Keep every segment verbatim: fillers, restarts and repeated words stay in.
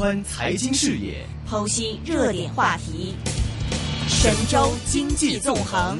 寬財經視野， 剖析熱點話題，神州經濟縱橫。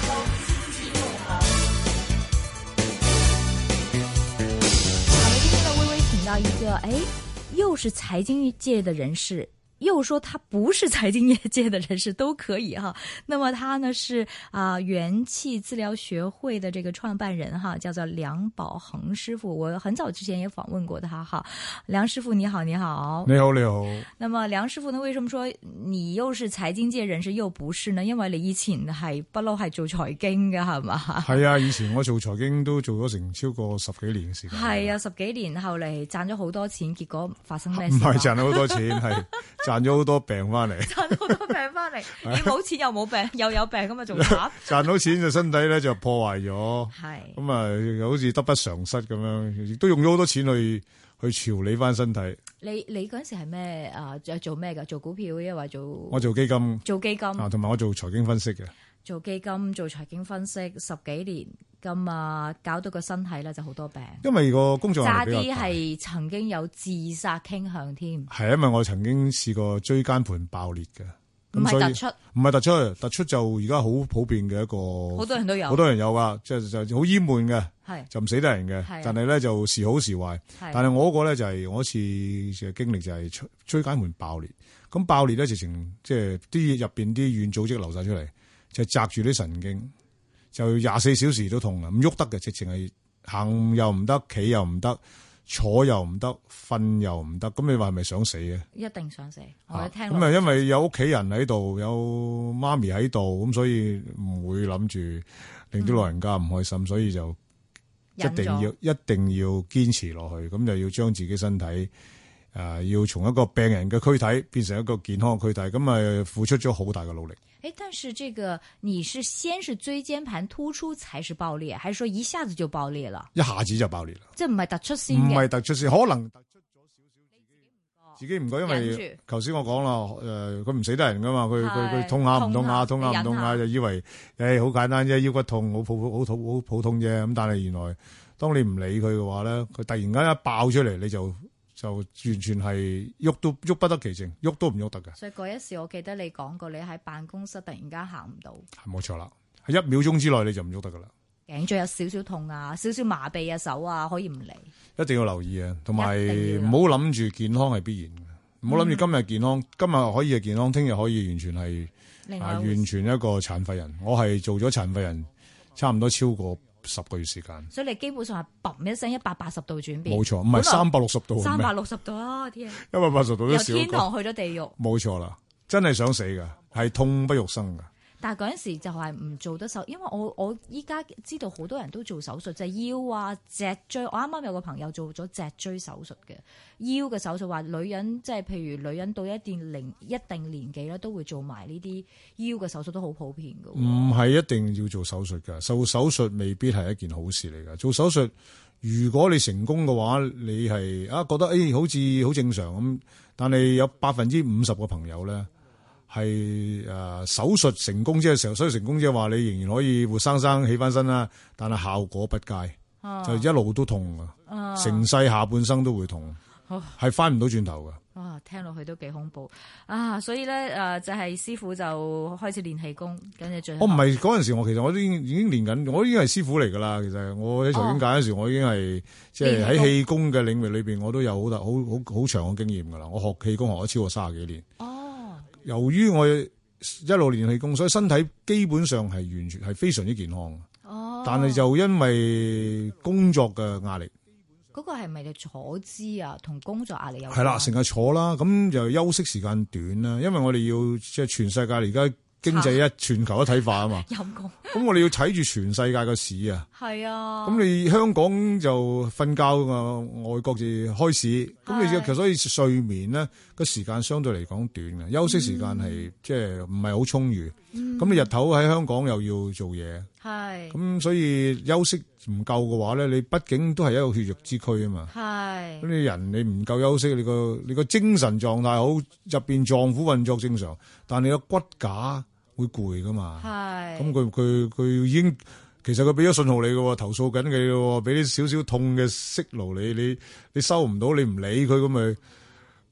好的，今天呢，微微請到一個，哎，又是財經界的人士。又說他不是財經業界的人士都可以哈，那麼他呢是啊、呃、元氣治療學會的這個創辦人哈，叫做梁寶恆師傅。我很早之前也訪問過他哈，梁師傅你好，你好， 你好你好。 那麼梁師傅呢，為什麼說你又是財經界人士又不是呢？因為你以前係不嬲係做財經嘅係嘛？ 係啊，以前我做財經都做咗成超過十幾年嘅時間。 係啊，十幾年後嚟賺咗好多錢，結果發生咩事？ 唔係賺咗好多錢，係。賺咗好多病翻嚟， 賺咗好多病翻嚟，你冇錢又冇病，又有病咁啊，仲慘。 賺到錢就身體咧就破壞咗， 係咁啊，好似得不償失咁樣，亦都用咗好多錢去去調理翻身體。 你你嗰陣時係咩啊？做咩噶？做股票抑或做？ 我做基金， 做基金啊，同埋我做財經分析嘅。 做基金做財經分析十幾年，咁啊搞到個身體咧就好多病。因為個工作壓力比較大， 差啲係曾經有自殺傾向添。 係因為我曾經試過椎間盤爆裂嘅， 唔係突出， 唔係突出，突出就而家好普遍嘅一個， 好多人都有， 好多人有噶，即係就好翳悶嘅， 係就唔死得人嘅，但係咧就時好時壞。但係我嗰個咧就係我一次嘅經歷就係椎椎間盤爆裂，咁爆裂咧直情即係啲入邊啲軟組織流晒出嚟。就紮住啲神經，就廿四小時都痛啊！唔喐得嘅，直情係行又唔得，企又唔得，坐又唔得，瞓又唔得。咁你話係咪想死嘅？ 一定想死！我一聽咁啊，因為有屋企人喺度，有媽咪喺度，咁所以唔會諗住令啲老人家唔開心，嗯、所以就一定要一定要堅持落去。咁就要將自己身體誒、呃，要從一個病人嘅軀體變成一個健康嘅軀體，咁啊付出咗好大嘅努力。 誒，但是這個你是先是椎間盤突出才是爆裂，還是說一下子就爆裂了？ 一下子就爆裂啦！ 即係唔係突出先？ 唔係突出先，可能突出咗少少，自己唔覺，因為為頭先我講啦，誒、呃，佢唔死得人噶嘛，佢佢佢痛下唔痛下，痛下唔痛下，就以為誒好簡單啫，腰骨痛好普好普好普通啫。咁但係原來當你唔理佢嘅話咧，佢突然間一爆出嚟，你就。就完全係喐都喐不得其正，喐都唔喐得嘅。 所以嗰一時，我記得你講過，你喺辦公室突然間行唔到， 係冇錯啦。喺一秒鐘之內你就唔喐得噶啦。 頸椎有少少痛啊，少少麻痹啊，手啊可以唔嚟。 一定要留意啊，同埋唔好諗住健康係必然嘅，唔好諗住今日健康，嗯、今日可以係健康，聽日可以完全係啊完全一個殘廢人。我係做咗殘廢人，差唔多超過十個月時間，所以你基本上係砰一聲一百八十度轉變， 冇錯，唔係三百六十度， 三百六十度啊！天， 一百八十度都少， 由天堂去咗地獄， 冇錯啦，真係想死噶，係痛不欲生噶。 但係嗰陣時就係唔做得手，因為我我依家知道好多人都做手術，就係、是、腰啊、脊椎。我啱啱有個朋友做咗脊椎手術嘅腰嘅手術，話女人即係譬如女人到一定齡一定年紀咧，都會做埋呢啲腰嘅手術，都好普遍㗎。 唔係一定要做手術㗎，做手術未必係一件好事嚟㗎。做手術如果你成功嘅話，你係啊覺得誒、哎、好似好正常咁，但係有百分之五十個朋友咧。係誒、呃、手術成功即係時候，手術成功即係話你仍然可以活生生起翻身啦，但係效果不佳，啊、就一路都痛啊，成世下半生都會痛，係翻唔到轉頭噶。 哇，聽落去都幾恐怖啊！所以咧誒、呃，就係、是、師傅就開始練氣功，跟住最後我唔係嗰陣時，我其實我都已經已經練緊，我已經係師傅嚟噶啦。其實我喺財經界嗰時，我已經係即係喺氣功嘅領域裏邊，我都有好大好好好長嘅經驗噶啦。我學氣功學咗超過三十幾年。哦。由於我一路練氣功，所以身體基本上係完全係非常之健康。哦，但係就因為工作嘅壓力， 嗰個係咪就坐姿啊？同工作壓力有關？ 係啦，成日坐啦，咁就休息時間短啦。因為我哋要即係全世界而家經濟一全球一體化啊嘛。陰功。咁我哋要睇住全世界嘅市啊。係啊。咁你香港就瞓覺啊，外國就開市。咁你其實所以睡眠咧個時間相對嚟講短嘅，休息時間係即係唔係好充裕。咁、嗯、你日頭喺香港又要做嘢。係。咁所以休息唔夠嘅話咧，你畢竟都係一個血肉之軀啊嘛。係。咁你人你唔夠休息，你個你個精神狀態好，入邊臟腑運作正常，但你個骨架會攰噶嘛？係。咁佢佢佢已經其實佢俾咗信號你嘅，投訴緊你嘅，俾啲少少痛嘅息怒你，你你收唔到，你唔理佢咁咪咁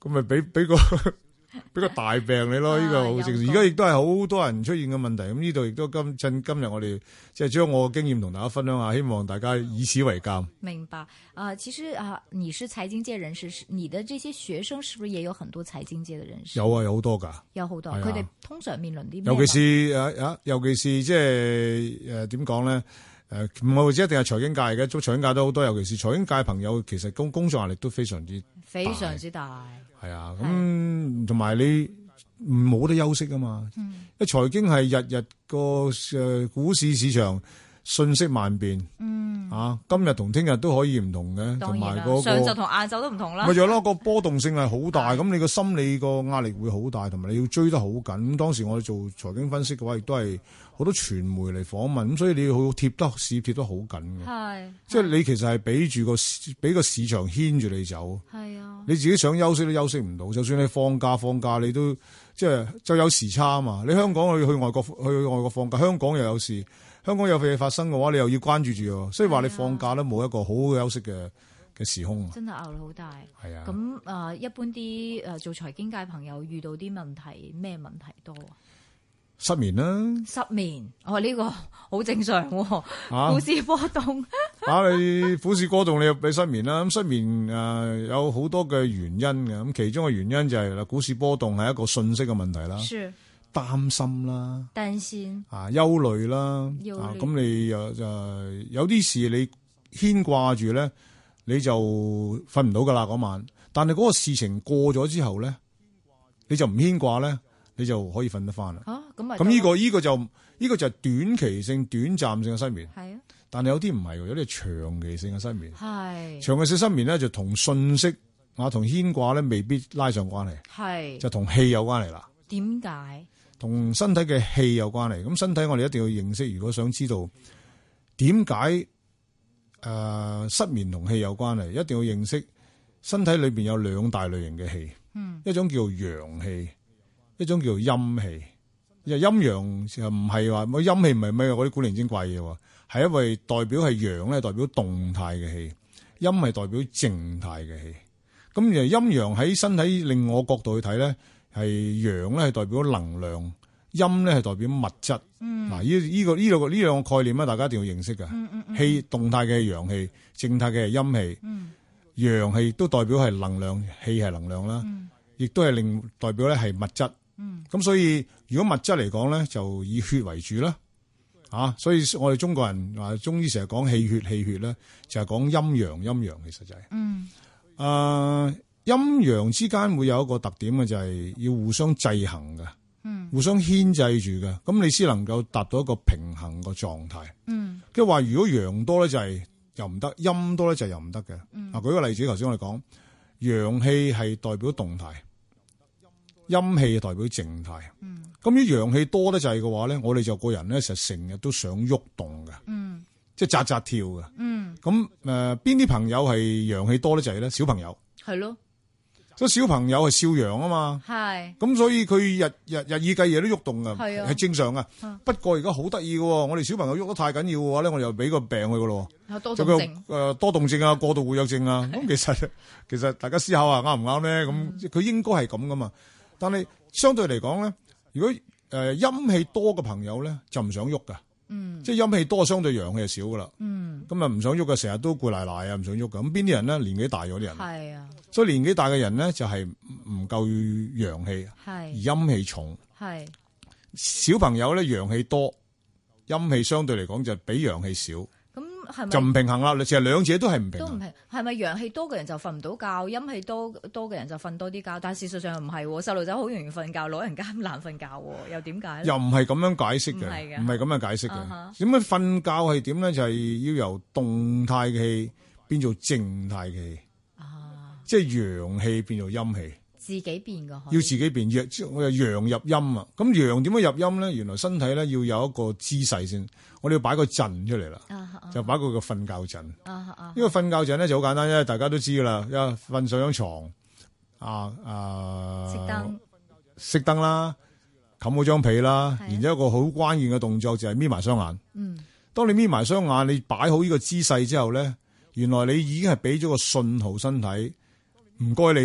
咁咪俾俾個俾個大病你咯，呢、啊、個好正常。而家亦都係好多人出現嘅問題。咁呢度亦都今趁今日我哋即係將我嘅經驗同大家分享下，希望大家以此為鑑。 明白啊、呃，其實啊，你是財經界人士，你的這些學生是不是也有很多財經界嘅人士？ 有啊，有好多噶，有好多。佢哋、啊、通常面臨啲咩？ 尤其是誒啊，尤其是即係誒點講咧？誒唔係或者一定係財經界嘅，做財經界都好多。尤其是財經界朋友，其實工工作壓力都非常之非常之大。係啊，咁同埋你冇得休息啊嘛。嗯，因為財經係日日個誒股市市場瞬息萬變。嗯，啊，今日同聽日都可以唔同嘅，同埋嗰個上晝同晏晝都唔同啦。 咪就係咯，個波動性係好大，咁你個心理個壓力會好大，同埋你要追得好緊。咁當時我哋做財經分析嘅話，亦都係好多傳媒嚟訪問，咁所以你要貼得市貼得好緊嘅。係，即係你其實係俾住個俾個市場牽住你走。係啊，你自己想休息都休息唔到，就算你放假放假，你都即係就有時差啊嘛。你香港去去外國去外國放假，香港又有事。香港有嘢發生嘅話，你又要關注住，所以話你放假都冇一個好好休息嘅嘅時空。真係壓力好大。係啊。咁啊、呃，一般啲誒做財經界朋友遇到啲問題，咩問題多啊？失眠啦。失眠，哦呢、這個好正常喎、啊。股市波動。啊，你股市波動，你又俾失眠啦。咁失眠誒、呃、有好多嘅原因嘅，咁其中嘅原因就係、是、啦，股市波動係一個信息嘅問題啦。是。擔心啦，擔心啊，憂慮啦，憂慮啊，咁你又就有啲事你牽掛住咧，你就瞓唔到噶啦嗰晚。但係嗰個事情過咗之後咧，你就唔牽掛咧，你就可以瞓得翻啦。啊，咁咪咁呢個呢、呢個就呢、呢個就係短期性、短暫性嘅失眠。係啊，但係有啲唔係，有啲係長期性嘅失眠。係長期性失眠咧，就同信息啊、同牽掛咧，未必拉上關係。係就同氣有關係啦。點解？同身體嘅氣有關係，咁身體我哋一定要認識。如果想知道點解誒失眠同氣有關係，一定要認識身體裏邊有兩大類型嘅氣，嗯，一種叫陽氣，一種叫陰氣。因為陰陽又唔係話，陰氣唔係咩嗰啲古靈精怪嘢喎，係因為代表係陽咧，代表動態嘅氣，陰係代表靜態嘅氣。咁而陰陽喺身體另我角度去睇咧。係陽咧係代表能量，陰咧係代表物質。嗯，嗱，呢呢個呢兩個呢兩個概念咧，大家一定要認識嘅。嗯嗯嗯。氣動態嘅係陽氣，靜態嘅係陰氣。嗯。陽氣都代表係能量，氣係能量啦。嗯。亦都係令代表咧係物質。嗯。咁所以如果物質嚟講咧，就以血為主啦。啊，所以我哋中國人話中醫成日講氣血氣血咧，就係講陰陽陰陽，其實就係。嗯。誒、呃。陰陽之間會有一個特點嘅，就係要互相制衡嘅，嗯，互相牽制住嘅，咁你先能夠達到一個平衡個狀態。嗯，即係話如果陽多咧就係又唔得，陰多咧就又唔得嘅。嗯，啊，舉個例子，頭先我哋講陽氣係代表動態，陰氣代表靜態。嗯，咁啲陽氣多得滯嘅話咧，我哋就個人咧，實成日都想喐動嘅。嗯，即係扎扎跳嘅。嗯，咁誒，邊啲朋友係陽氣多得滯咧？小朋友係咯。所以小朋友係少陽啊嘛，係咁所以佢日日日以繼夜都喐動噶，係啊，係正常噶。不過而家好得意嘅，我哋小朋友喐得太緊要嘅話咧，我哋又俾個病佢噶咯，多動症誒，多動症啊，過度活躍症啊。咁其實其實大家思考下啱唔啱咧？咁佢應該係咁噶嘛。但係相對嚟講咧，如果誒陰氣多嘅朋友咧，就唔想喐噶。嗯，即係陰氣多，相對陽氣就少噶啦。嗯，咁啊唔想喐嘅，成日都攰賴賴啊，唔想喐噶。咁邊啲人咧？年紀大咗啲人係啊，所以年紀大嘅人咧就係唔夠陽氣，係而陰氣重。係小朋友咧陽氣多，陰氣相對嚟講就比陽氣少。咁係咪就唔平衡啦？其實兩者都係唔平衡。都唔平，係咪陽氣多嘅人就瞓唔到覺，陰氣多多嘅人就瞓多啲覺？但係事實上又唔係，細路仔好容易瞓覺，老人家難瞓覺，又點解咧？又唔係咁樣解釋嘅，唔係咁樣解釋嘅。點解瞓覺係點咧？就係、是、要由動態嘅氣變做靜態嘅氣，啊，即係陽氣變做陰氣。自己變噶，要自己變，陽我又陽入陰啊！咁陽點樣入陰咧？原來身體咧要有一個姿勢先，我哋要擺個陣出嚟啦，啊啊，就擺個個瞓覺陣。呢、啊啊、個瞓覺陣咧就好簡單啫，大家都知噶啦，一瞓上張床，啊啊，熄燈，熄燈啦，冚好張被啦，然之後一個好關鍵嘅動作就係眯埋雙眼。嗯，當你眯埋雙眼，你擺好呢個姿勢之後咧，原來你已經係俾咗個信號身體，唔該你。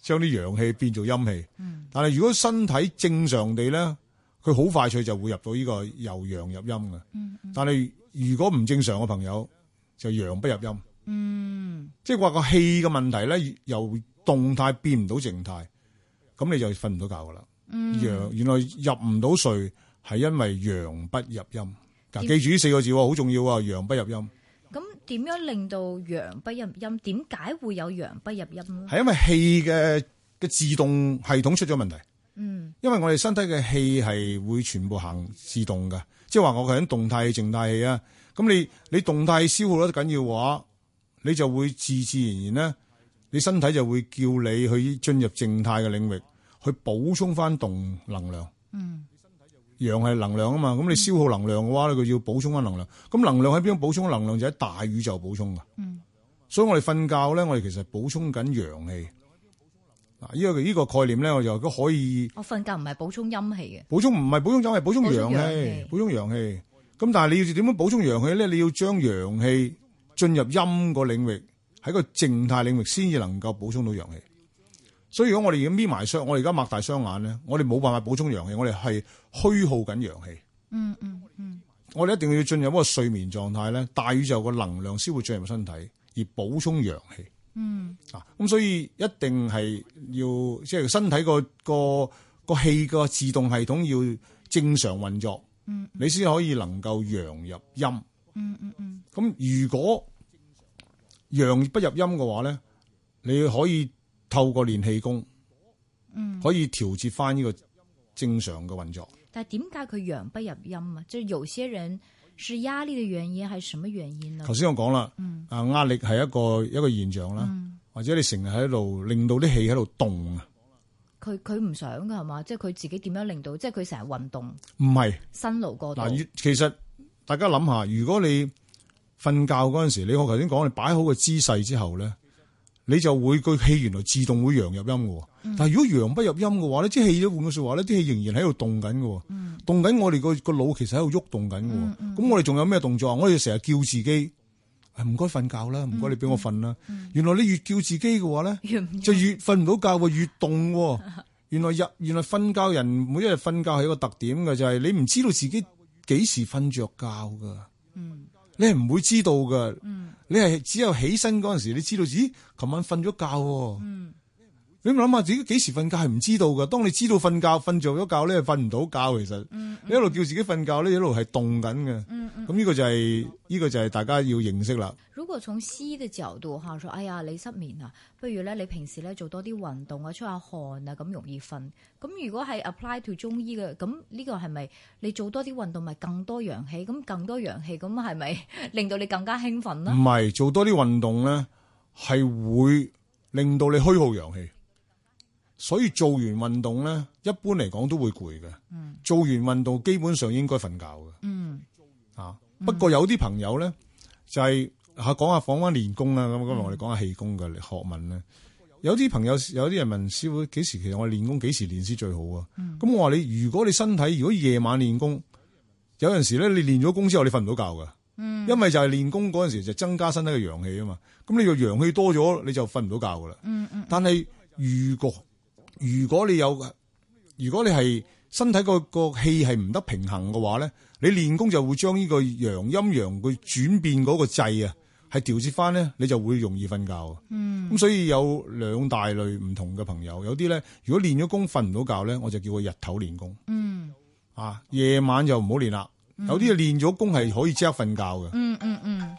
將啲陽氣變做陰氣。 嗯、 但係如果身體正常地咧，佢好快脆就會入到呢個由陽入陰嘅。 嗯嗯、 但係如果唔正常嘅朋友，就陽不入陰。 嗯， 即係話個氣嘅問題咧，由動態變唔到靜態，咁你就瞓唔到覺噶啦。 嗯、 陽原來入唔到睡係因為陽不入陰。嗱，記住呢四個字好重要啊！陽不入陰。 咁點樣令到陽不入陰？點解會有陽不入陰咧？ 係因為氣嘅嘅自動系統出咗問題。 嗯， 因為我哋身體嘅氣係會全部行自動嘅，即係話我係喺動態氣、靜態氣啊。咁你你動態消耗得緊要嘅話，你就會自自然然咧，你身體就會叫你去進入靜態嘅領域，去補充翻動能量。 嗯。 陽係能量啊嘛，咁你消耗能量嘅話咧，佢要補充翻能量。咁能量喺邊度補充？能量就喺大宇宙補充噶。 嗯， 所以我哋瞓覺咧，我哋其實補充緊陽氣。嗱，呢個呢個概念咧，我就都可以。 我瞓覺唔係補充陰氣嘅。 補充唔係補充陰，係補充陽氣。 氣補充陽氣。咁但係你要點樣補充陽氣咧？你要將陽氣進入陰個領域，喺個靜態領域先至能夠補充到陽氣。所以如果我哋而家眯埋雙，我哋而家擘大雙眼咧，我哋冇辦法補充陽氣，我哋係虛耗緊陽氣。 嗯嗯嗯。 我哋一定要進入一個睡眠狀態咧，大宇宙個能量先會進入身體，而補充陽氣。 嗯。 啊，咁所以一定係要即係身體個個個氣個自動系統要正常運作。 嗯。 你先可以能夠陽入陰。 嗯嗯嗯。 咁如果陽不入陰嘅話咧，你可以透過練氣功，嗯，可以調節翻呢個正常嘅運作。 但係點解佢陽不入陰啊？即係有些人是壓力嘅原因，係什麼原因呢？ 頭先我講啦， 嗯， 啊壓力係一個一個現象啦， 嗯、或者你成日喺度令到啲氣喺度動啊。 佢佢唔想噶係嘛？即係佢自己點樣令到？即係佢成日運動， 唔係辛勞過度。 嗱，其實大家諗下，如果你瞓覺嗰陣時，你我頭先講，你擺好個姿勢之後咧，你就會個氣原來自動會陽入陰嘅。嗯、但係如果陽不入陰嘅話咧，啲氣都換句說話咧，啲氣仍然喺度動緊嘅。嗯、動緊我哋個個腦其實喺度喐動緊嘅。咁、嗯嗯、我哋仲有咩動作啊？我哋成日叫自己唔該瞓覺啦，唔該你俾我瞓啦。嗯嗯、原來你越叫自己嘅話咧，越就越瞓唔到覺，越動。原來入原來瞓覺人每一日瞓覺係一個特點嘅，就係、是、你唔知道自己幾時瞓着覺噶。嗯你係唔會知道噶，嗯、你係只有起身嗰陣時，你知道，咦，琴晚瞓咗覺。嗯、你諗下自己幾時瞓覺係唔知道噶。當你知道瞓覺瞓着咗覺咧，瞓唔到覺。其實、嗯嗯、你一路叫自己瞓覺咧，一路係動緊嘅。咁呢、嗯嗯、個就係、是、呢、這個就係大家要認識啦。 如果從西醫嘅角度吓，說哎呀你失眠啊，不如咧你平時咧做多啲運動啊，出下汗啊，咁容易瞓。咁如果係 apply to 中醫嘅，咁呢個係咪你做多啲運動咪更多陽氣？咁更多陽氣，咁係咪令到你更加興奮咧？ 唔係，做多啲運動咧，係會令到你虛耗陽氣。所以做完運動咧，一般嚟講都會攰嘅。嗯，做完運動基本上應該瞓覺嘅。嗯，啊，不過有啲朋友咧就係、是。吓，講下講翻練功啦，咁今日我哋講下氣功嘅學問咧。有啲朋友有啲人問師傅幾時，其實我哋練功幾時練先最好啊？咁、嗯、我話你，如果你身體如果夜晚練功，有陣時咧你練咗功之後你瞓唔到覺噶，嗯、因為就係練功嗰陣時就增加身體嘅陽氣啊嘛。咁你個陽氣多咗，你就瞓唔到覺噶啦。嗯嗯、但係如果如果你有，如果你係身體個個氣係唔得平衡嘅話咧，你練功就會將呢個陽陰陽佢轉變嗰個掣啊。係調節翻咧，你就會容易瞓覺。嗯，咁所以有兩大類唔同嘅朋友，有啲咧，如果練咗功瞓唔到覺咧，我就叫佢日頭練功。嗯，啊，夜晚就唔好練啦。嗯、有啲練咗功係可以即刻瞓覺嘅。 嗯嗯嗯。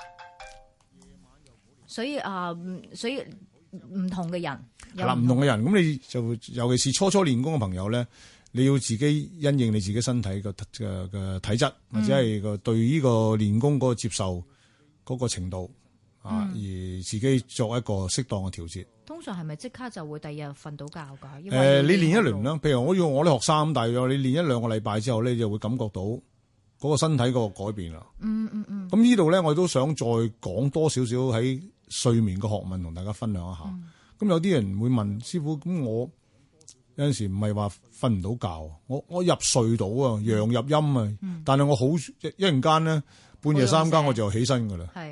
所以啊，所以唔同嘅人係啦，唔同嘅人，咁你就尤其是初初練功嘅朋友咧，你要自己因應你自己身體嘅嘅嘅體質，或者係個對呢個練功嗰個接受。嗰個程度啊，嗯、而自己作一個適當嘅調節。 通常係咪即刻就會第二日瞓到覺㗎？誒、 呃，你練一輪啦，譬如我要我啲學生咁，大約你練一兩個禮拜之後咧，你就會感覺到嗰個身體個改變啦、嗯。嗯嗯嗯。咁呢度咧，我都想再講多少少喺睡眠嘅學問，同大家分享一下。咁、嗯、有啲人會問師傅，咁我有陣時唔係話瞓唔到覺，我我入睡到啊，陽入陰啊，嗯、但係我好一一陣間咧。半夜三更我就起身噶啦，係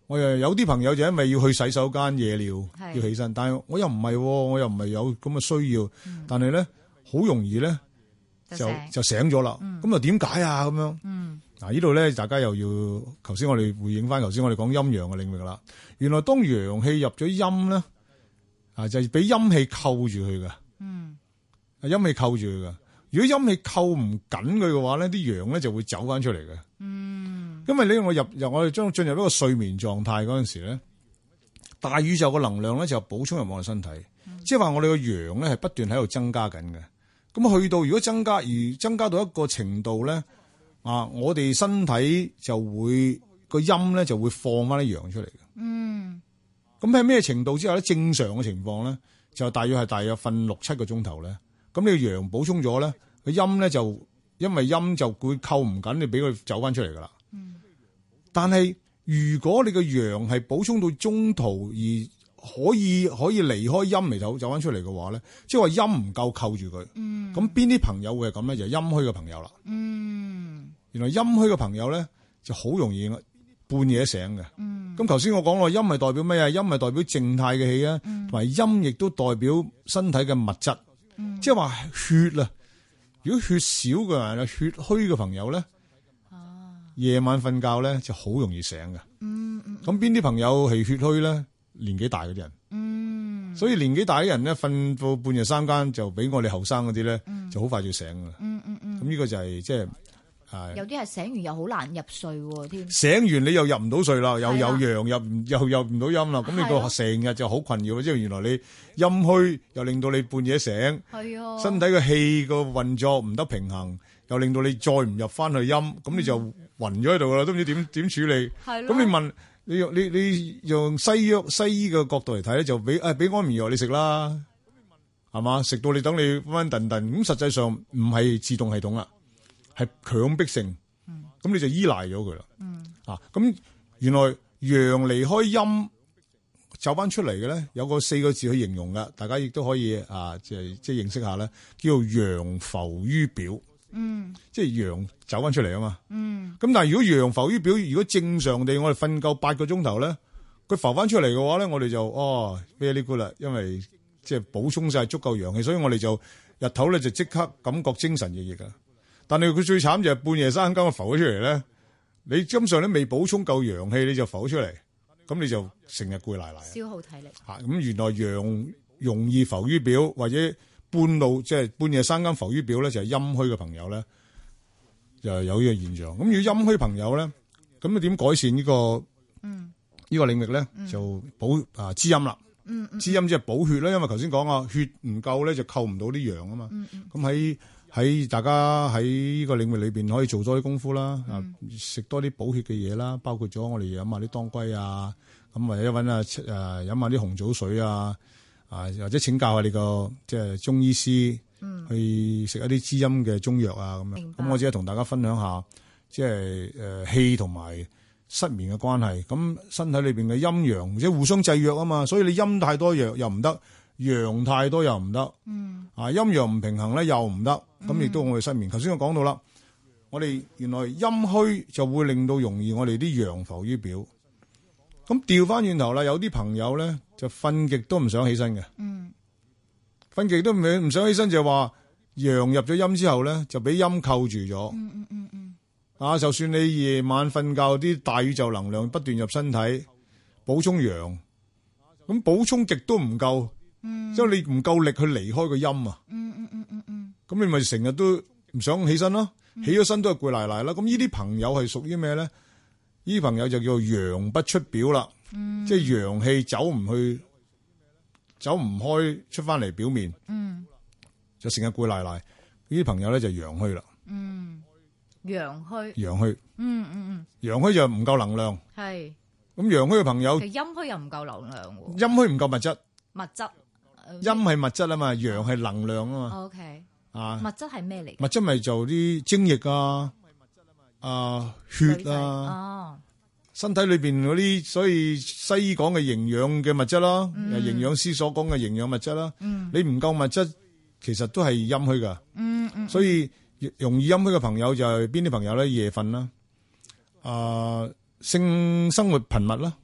我又有啲朋友就因為要去洗手間夜尿要起身，但係我又唔係，我又唔係有咁嘅需要，嗯、但係咧好容易咧就就，就醒咗啦。咁又點解啊？咁樣，嗯、嗱呢度咧大家又要，頭先我哋回應翻頭先我哋講陰陽嘅領域啦。原來當陽氣入咗陰咧，啊就係俾陰氣扣住佢噶，嗯，陰氣扣住佢噶。如果陰氣扣唔緊佢嘅話咧，啲陽咧就會走翻出嚟嘅。嗯，因為呢，我入入我哋將進入一個睡眠狀態嗰陣時咧，大宇宙嘅能量咧就補充入我哋身體，嗯、即係話我哋個陽咧係不斷喺度增加緊嘅。咁去到如果增加而增加到一個程度咧，啊，我哋身體就會個陰咧就會放翻啲陽出嚟嘅。嗯，咁喺咩程度之下咧？正常嘅情況咧，就大約係大約瞓六七個鐘頭咧。咁你個陽補充咗咧，個陰咧就因為陰就會扣唔緊，你俾佢走翻出嚟噶啦。嗯。但係如果你個陽係補充到中途而可以可以離開陰嚟走走翻出嚟嘅話咧，即係話陰唔夠扣住佢。嗯。咁邊啲朋友會係咁咧？就係陰虛嘅朋友啦。嗯。原來陰虛嘅朋友咧就好容易半夜醒嘅。嗯。咁頭先我講咯，陰係代表咩啊？陰係代表靜態嘅氣啊，同埋陰亦都代表身體嘅物質。嗯、即係話血啊！如果血少嘅人啊，血虛嘅朋友咧，夜、啊、晚瞓覺咧就好容易醒嘅。嗯嗯。咁邊啲朋友係血虛咧？年紀大嗰啲人。嗯。所以年紀大啲人咧，瞓到半夜三更就比我哋後生嗰啲咧，嗯、就好快就醒噶啦。嗯嗯嗯。咁呢個就係即係。係有啲係醒完又好難入睡喎，添醒完你又入唔到睡啦，又有陽入又入唔到陰啦，咁你個成日就好困擾，即係原來你陰虛又令到你半夜醒，係啊，身體嘅氣個運作唔得平衡，又令到你再唔入翻去陰，咁你就暈咗喺度啦，都唔知點點處理。係咁你問你用你你用西藥西醫嘅角度嚟睇咧，就俾誒俾安眠藥你食啦，係嘛？食到你等你溫溫頓頓，咁實際上唔係自動系統啦。係強迫性，咁、嗯、你就依賴咗佢啦。嗯、啊，咁原來陽離開陰走翻出嚟嘅咧，有個四個字去形容噶，大家亦都可以啊，即係即係認識下咧，叫做陽浮於表。嗯，即係陽走翻出嚟啊嘛。嗯，咁但係如果陽浮於表，如果正常地我哋瞓夠八個鐘頭咧，佢浮翻出嚟嘅話咧，我哋就哦 very good 啦，因為即係補充晒足夠陽氣，所以我哋就日頭咧就即刻感覺精神奕奕噶。但係佢最慘就係半夜三更浮咗出嚟咧，你基本上都未補充夠陽氣，你就浮咗出嚟，咁你就成日攰賴賴， 消耗體力。 吓，咁原來陽容易浮於表，或者半路即係半夜三更浮於表咧，就係陰虛嘅朋友咧，就有呢個現象。咁如果陰虛朋友咧，咁你點改善呢個嗯呢個領域咧？就補啊滋陰啦，嗯滋陰即係補血啦，因為頭先講啊，血唔夠咧就扣唔到啲陽啊嘛。咁喺喺大家喺呢個領域裏邊可以做多啲功夫啦，啊食、嗯、多啲補血嘅嘢啦，包括咗我哋飲下啲當歸啊，咁或者揾啊誒飲下啲紅棗水啊，啊或者請教下你個即係中醫師，嗯、去食一啲滋陰嘅中藥啊咁樣。咁白我只係同大家分享下，即係誒氣同埋失眠嘅關係。咁身體裏邊嘅陰陽即係互相制約啊嘛，所以你陰太多藥又唔得。陽太多又唔得，嗯、啊陰陽唔平衡咧又唔得，咁亦、嗯、都我哋失眠。頭先我講到啦，我哋原來陰虛就會令到容易我哋啲陽浮於表。咁調翻轉頭啦，有啲朋友咧就瞓極都唔想起身嘅，瞓極、嗯、都唔唔想起身就話陽入咗陰之後咧就俾陰扣住咗。嗯嗯嗯嗯、啊，就算你夜晚瞓覺啲大宇宙能量不斷入身體補充陽，咁補充極都唔夠。即係你唔夠力去離開個陰啊！嗯嗯嗯嗯嗯，咁你咪成日都唔想起身咯，起咗身都係攰賴賴啦。咁呢啲朋友係屬於咩咧？呢啲朋友就叫做陽不出表啦，嗯、即係陽氣走唔去，走唔開出翻嚟表面，嗯、就成日攰賴賴。呢啲朋友咧就陽虛啦。嗯，陽虛。陽虛。嗯嗯嗯。陽虛就唔夠能量。係。咁陽虛嘅朋友， 其實陰虛又唔夠能量喎。 陰虛唔夠物質。 物質。 陰係物質啊嘛，陽係能量啊嘛。 O K，啊，物質係咩嚟？ 物質咪就啲精液啊，啊血啊，哦，身體裏邊嗰啲，所以西醫講嘅營養嘅物質啦，誒，營養師所講嘅營養物質啦，嗯，你唔夠物質，其實都係陰虛噶。嗯嗯，所以容易陰虛嘅朋友就係邊啲朋友咧？夜瞓啦，啊，性生活頻密啦。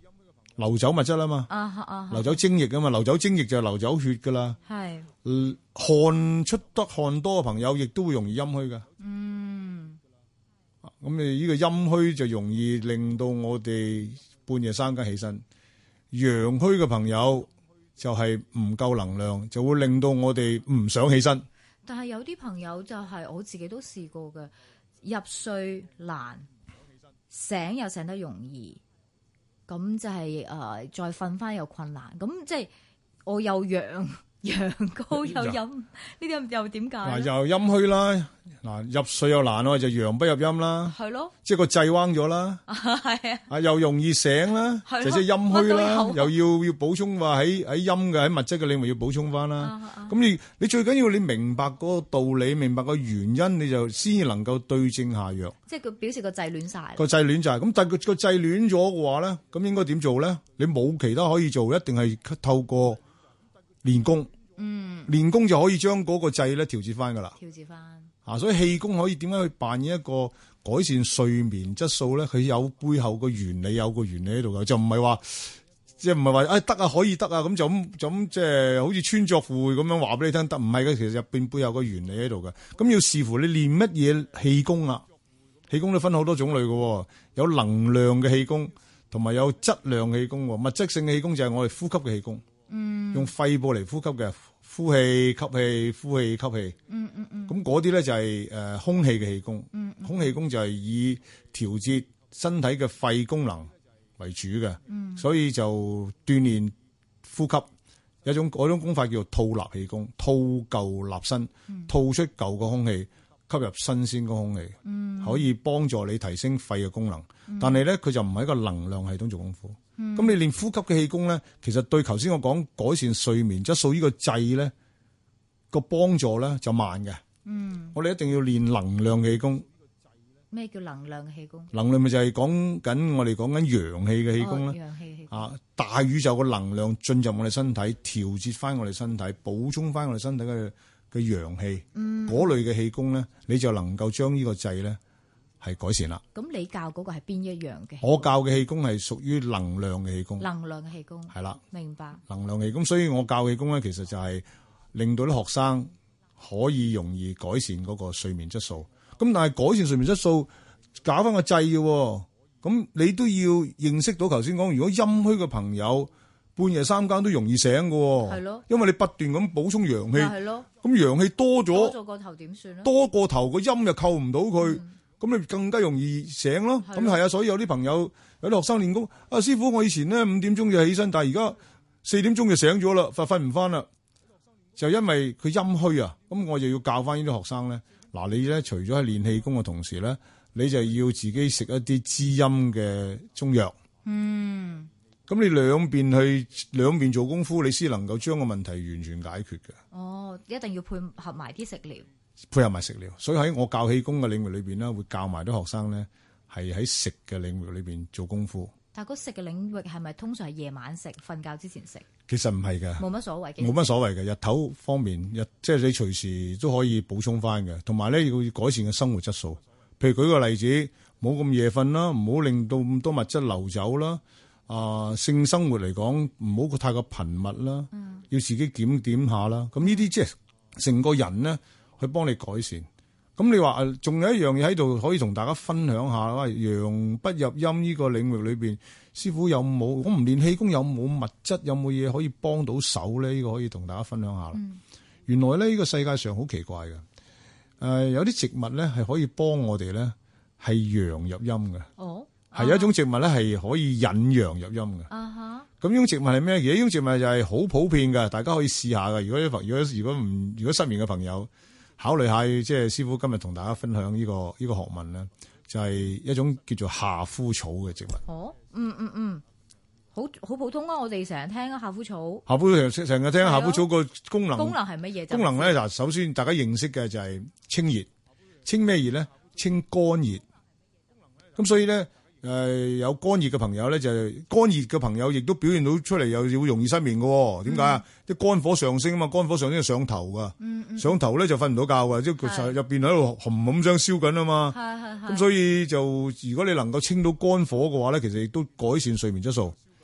流走物質啊嘛， 啊哈啊哈流走精液啊嘛，流走精液就係流走血噶啦。 係汗出得汗多嘅朋友，亦都會容易陰虛噶。 嗯， 咁你呢個陰虛就容易令到我哋半夜三更起身。陽虛嘅朋友就係唔夠能量，就會令到我哋唔想起身。 但係有啲朋友就係、是、我自己都試過嘅，入睡難，醒又醒得容易，咁就係、是、誒、呃、再瞓翻又困難，咁即係我又陽陽高又陰，呢啲又點解？嗱又陰虛啦，嗱入睡又難咯，就陽不入陰啦， 係咯， 即係個掣彎咗啦， 係啊， 啊又容易醒啦，就即係陰虛啦，又要要補充話喺喺陰嘅喺物質嘅領域要補充翻啦。咁、啊啊、你你最緊要你明白嗰個道理，明白個原因，你就先能夠對症下藥。即係佢表示個掣亂晒，個掣亂就係咁，但係個個掣亂咗嘅話咧，咁應該點做咧？你冇其他可以做，一定係透過練功，嗯，練功就可以將嗰個掣咧調節翻噶啦，調節翻啊，所以氣功可以點解去扮演一個改善睡眠質素咧？佢有背後個原理，有個原理喺度噶，就唔係話即係唔係話誒得啊可以得啊咁就咁就咁即係好似穿鑿附會咁樣話俾你聽得，唔係嘅，其實入邊背後個原理喺度嘅。咁要視乎你練乜嘢氣功啦，氣功都分好多種類嘅，有能量嘅氣功，同埋有質量氣功，物質性氣功就係我哋呼吸嘅氣功。嗯，用肺部嚟呼吸嘅，呼氣、吸氣、呼氣、吸氣。嗯嗯嗯。咁嗰啲咧就係誒空氣嘅氣功。嗯，嗯。空氣功就係以調節身體嘅肺功能為主嘅。嗯。所以就鍛煉呼吸，有一種嗰種功法叫做吐納氣功，吐舊納新，嗯、吐出舊嘅空氣，吸入新鮮嘅空氣。嗯。可以幫助你提升肺嘅功能，嗯、但係咧佢就唔係一個能量系統做功夫。咁、嗯、你練呼吸嘅氣功咧，其實對頭先我講改善睡眠質素呢個掣咧個幫助咧就慢嘅。嗯，我哋一定要練能量氣功。咩叫能量氣功？能量咪就係講緊我哋講緊陽氣嘅氣功啦。陽氣氣功啊，大宇宙嘅能量進入我哋身體，調節翻我哋身體，補充翻我哋身體嘅嘅陽氣。嗯，嗰類嘅氣功咧，你就能夠將呢個掣咧係改善啦。咁你教嗰個係邊一樣嘅？我教嘅氣功係屬於能量嘅氣功。能量嘅氣功係啦，明白。能量氣功，所以我教氣功咧，其實就係令到啲學生可以容易改善嗰個睡眠質素。咁但係改善睡眠質素，搞翻個掣嘅，咁你都要認識到頭先講，如果陰虛嘅朋友半夜三更都容易醒嘅，係咯，因為你不斷咁補充陽氣，係咯，咁陽氣多咗，多咗個頭點算咧？多個頭個陰又扣唔到佢。嗯咁你更加容易醒咯，咁係啊，所以有啲朋友有啲學生練功，啊師傅，我以前咧五點鐘就起身，但係而家四點鐘就醒咗啦，瞓瞓唔翻啦，就因為佢陰虛啊，咁我就要教翻呢啲學生咧，嗱你咧除咗係練氣功嘅同時咧，你就要自己食一啲滋陰嘅中藥，嗯，咁你兩邊去兩邊做功夫，你先能夠將個問題完全解決嘅。哦，一定要配合埋啲食療。配合埋食療，所以喺我教氣功嘅領域裏邊咧，會教埋啲學生咧，係喺食嘅領域裏邊做功夫。但係嗰食嘅領域係咪通常係夜晚食，瞓覺之前食？其實唔係嘅，冇乜所謂嘅，冇乜所謂嘅。日頭方面，日即係你隨時都可以補充翻嘅。同埋咧，要改善嘅生活質素。譬如舉個例子，冇咁夜瞓啦，唔好令到咁多物質流走啦。啊、呃，性生活嚟講，唔好太過頻密啦。嗯，要自己檢點下啦。咁呢啲即係成個人咧。去幫你改善，咁你話誒，仲有一樣嘢喺度可以同大家分享下啦。陽不入陰呢個領域裏邊，師傅有冇？我唔練氣功有冇物質？有冇嘢可以幫到手咧？呢個可以同大家分享下啦。嗯、原來咧呢個世界上好奇怪嘅，誒、呃、有啲植物咧係可以幫我哋咧係陽入陰嘅。哦，係有一種植物咧係可以引陽入陰嘅。啊哈，咁呢種植物係咩？而呢種植物就係好普遍嘅，大家可以試下嘅。如果如果如果唔如果失眠嘅朋友，考慮下，即係師傅今日同大家分享呢個呢個學問咧，就係一種叫做夏枯草嘅植物。哦，嗯嗯嗯，好好普通啊！我哋成日聽啊，夏枯草。夏枯草成日聽夏枯草個功能。功能係乜嘢？功能咧，嗱，首先大家認識嘅就係清熱，清咩熱咧？清肝熱。咁所以咧。誒、呃，有肝熱嘅朋友咧，就係、肝熱嘅朋友亦都表現到出嚟，又會容易失眠嘅。點解啊？啲肝、嗯、火上升啊嘛，肝火上升就上頭噶，嗯嗯、上頭咧就瞓唔到覺噶，即係佢入邊喺度冚冚聲燒緊啊嘛。咁所以就如果你能夠清到肝火嘅話咧，其實亦都改善睡眠質素。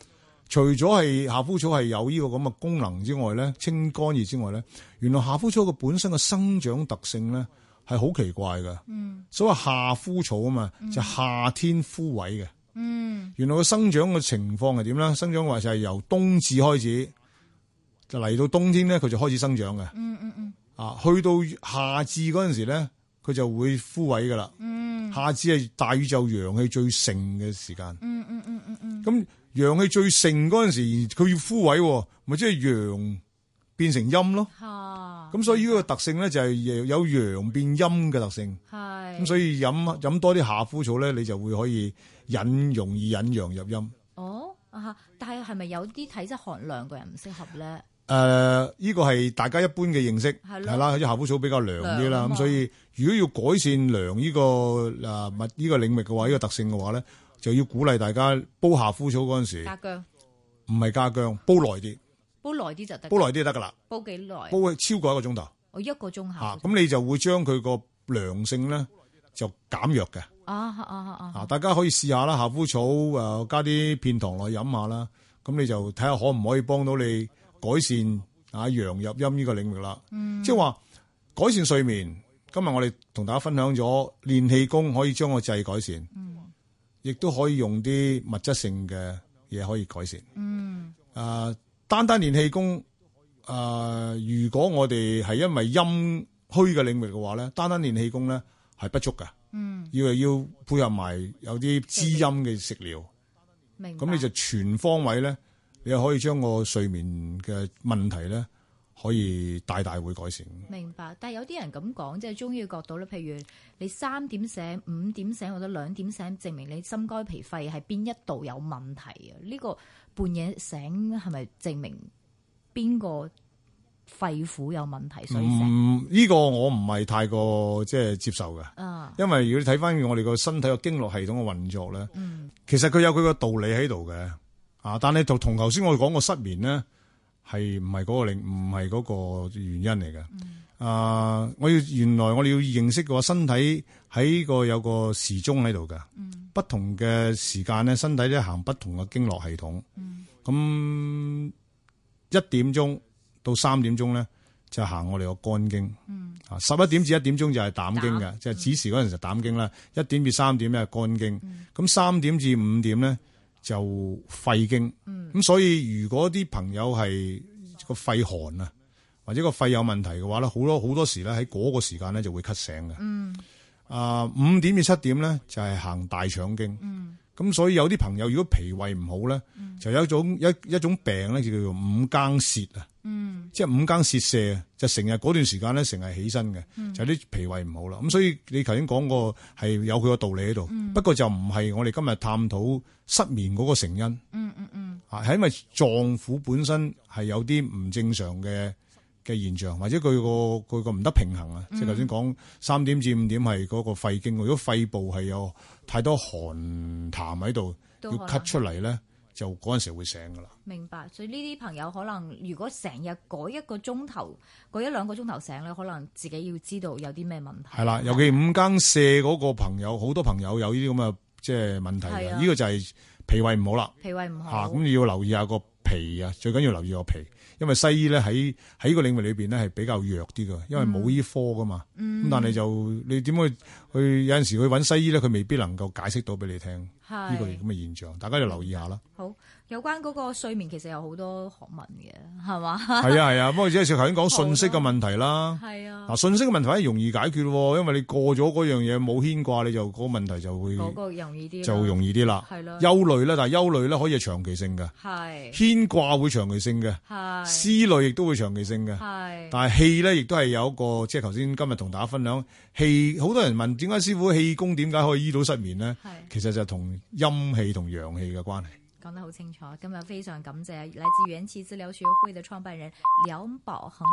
除咗係夏枯草係有呢個咁嘅功能之外咧，清肝熱之外咧，原來夏枯草嘅本身嘅生長特性咧係好奇怪嘅。嗯，所謂夏枯草啊嘛，嗯、就夏天枯萎嘅。嗯，原來個生長嘅情況係點咧？生長話就係由冬至開始，就嚟到冬天咧，佢就開始生長嘅。嗯嗯嗯。啊，去到夏至嗰陣時咧，佢就會枯萎噶啦。嗯，夏至係大宇宙陽氣最盛嘅時間。嗯嗯嗯嗯嗯。咁陽氣最盛嗰陣時，佢要枯萎，咪即係陽變成陰咯。咁、啊、所以呢個特性咧就係有陽變陰嘅特性。係。咁所以飲飲多啲夏枯草咧，你就會可以引容易引陽入陰。哦，啊，但係係咪有啲體質寒涼嘅人唔適合咧？誒、呃，呢個係大家一般嘅認識係啦，啲夏枯草比較涼啲啦。咁所以如果要改善涼呢、這個誒物呢個領域嘅話，呢、這個特性嘅話咧，就要鼓勵大家煲夏枯草嗰陣時，加薑，唔係加薑，煲耐啲，煲耐啲就得，煲耐啲就得噶啦。煲幾耐？煲超過一個鐘頭。我一個鐘頭。咁、啊、你就會將佢個涼性咧就減弱嘅。啊啊啊啊！大家可以試下啦，夏枯草誒、呃、加啲片糖落去飲下啦。咁你就睇下可唔可以幫到你改善啊陽入陰呢個領域啦。嗯，即係話改善睡眠。今日我哋同大家分享咗練氣功可以將個掣改善。嗯。亦都可以用啲物質性嘅嘢可以改善。嗯。誒、呃，單單練氣功，誒、呃，如果我哋係因為陰虛嘅領域嘅話咧，單單練氣功咧係不足嘅。嗯。要係要配合埋有啲滋陰嘅食療。明白。咁你就全方位咧，你又可以將個睡眠嘅問題咧，可以大大會改善。明白，但係有啲人咁講，即係中醫嘅角度咧，譬如你三點醒、五點醒或者兩點醒，證明你心肝脾肺係邊一度有問題啊？呢、這個半夜醒係咪證明邊個肺腑有問題？所以醒？嗯，呢、這個我唔係太過即係接受嘅。啊，因為如果你睇翻我哋個身體個經絡系統嘅運作咧，嗯，其實佢有佢個道理喺度嘅。啊，但係就同頭先我哋講個失眠咧。係唔係嗰個令唔係嗰個原因嚟嘅？嗯、啊！我要原來我哋要認識嘅話，身體喺個有個時鐘喺度㗎。嗯、不同嘅時間咧，身體咧行不同嘅經絡系統。咁、嗯、一點鐘到三點鐘咧，就行我哋個肝經。嗯、啊，十一點至一點鐘就係膽經嘅，即係子時嗰陣就膽經啦。一點至三點咧係肝經。咁三、嗯、點至五點咧，就肺經，咁、嗯、所以如果啲朋友係個肺寒啊，或者個肺有問題嘅話咧，好多好多時咧喺嗰個時間咧就會咳醒嘅。嗯，啊五點至七點咧就係行大腸經。嗯，咁所以有啲朋友如果脾胃唔好咧，嗯、就有一種一一種病咧就叫做五更泄啊。嗯，即係五更泄瀉，就成日嗰段時間咧成日起身嘅，嗯、就啲脾胃唔好啦。咁所以你頭先講過係有佢個道理喺度，嗯、不過就唔係我哋今日探討失眠嗰個成因。嗯嗯嗯，啊係因為臟腑本身係有啲唔正常嘅嘅現象，或者佢個佢個唔得平衡啊。嗯、即係頭先講三點至五點係嗰個肺經，如果肺部係有太多寒痰喺度，要咳出嚟咧。就嗰陣時會醒噶啦。明白，所以呢啲朋友可能如果成日嗰一個鐘頭、嗰一兩個鐘頭醒咧，可能自己要知道有啲咩問題。係啦，尤其五更瀉嗰個朋友，好多朋友有呢啲咁嘅即係問題嘅。呢的個就係脾胃唔好啦。脾胃唔好嚇，咁、啊、你要留意下個脾啊，最緊要留意個脾，因為西醫咧喺喺呢個領域裏邊咧係比較弱啲㗎，因為冇醫科噶嘛。咁、嗯、但係就你點去去有陣時去揾西醫咧，佢未必能夠解釋到俾你聽。呢個咁嘅現象，大家就留意下啦。好，有關嗰個睡眠其實有好多學問嘅，係嘛？係啊係啊，不過只係頭先講信息嘅問題啦。係啊，嗱信息嘅問題係容易解決喎，因為你過咗嗰樣嘢冇牽掛，你就嗰個問題就會嗰個容易啲，就容易啲啦。係咯，憂慮咧，但係憂慮咧可以係長期性嘅。係牽掛會長期性嘅。係思慮亦都會長期性嘅。係，但係氣咧亦都係有一個，即係頭先今日同大家分享氣，好多人問點解師傅氣功點解可以醫到失眠咧？係，其實就同陰氣同陽氣嘅關係，講得好清楚。今日非常感謝來自元氣治療學會的創辦人梁寶衡。